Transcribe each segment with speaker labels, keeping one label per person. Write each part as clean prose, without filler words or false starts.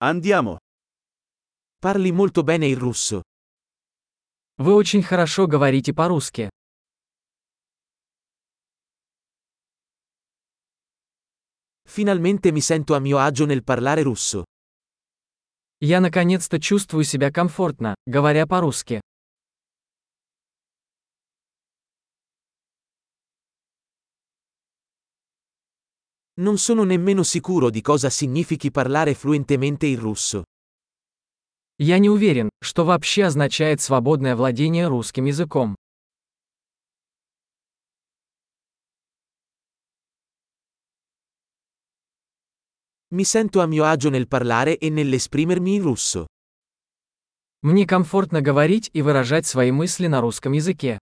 Speaker 1: Andiamo.
Speaker 2: Parli molto bene il russo.
Speaker 3: Вы очень хорошо говорите по-русски.
Speaker 2: Finalmente mi sento a mio agio nel parlare russo.
Speaker 3: Я наконец-то чувствую себя комфортно, говоря по-русски.
Speaker 2: Non sono nemmeno sicuro di cosa significhi parlare fluentemente il russo.
Speaker 3: Я не уверен, что вообще означает свободное владение русским языком.
Speaker 2: Mi sento a mio agio nel parlare e nell'esprimermi in russo.
Speaker 3: Мне комфортно говорить и выражать свои мысли на русском языке.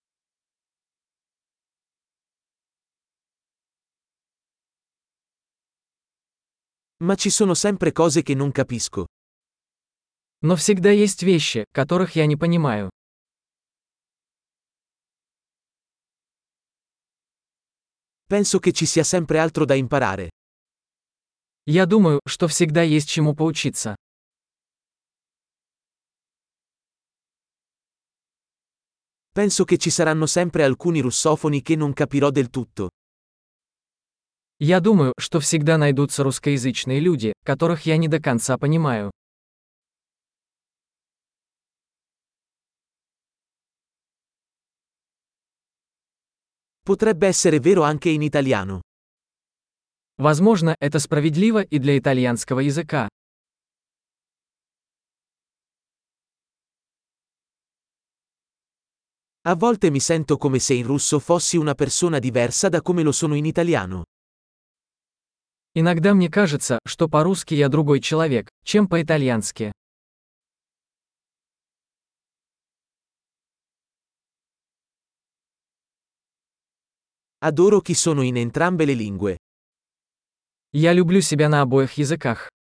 Speaker 2: Ma ci sono sempre cose che non capisco.
Speaker 3: Но всегда есть вещи, которых я не понимаю.
Speaker 2: Penso che ci sia sempre altro da imparare.
Speaker 3: Я думаю, что всегда есть чему поучиться.
Speaker 2: Penso che ci saranno sempre alcuni russofoni che non capirò del tutto.
Speaker 3: Я думаю, что всегда найдутся русскоязычные люди, которых я не до конца понимаю.
Speaker 2: Potrebbe essere vero anche in italiano.
Speaker 3: Возможно, это справедливо и для итальянского языка.
Speaker 2: A volte mi sento come se in russo fossi una persona diversa da come lo sono in italiano.
Speaker 3: Иногда мне кажется, что по-русски я другой человек, чем по-итальянски.
Speaker 2: Adoro chi sono in entrambe le lingue.
Speaker 3: Я люблю себя на обоих языках.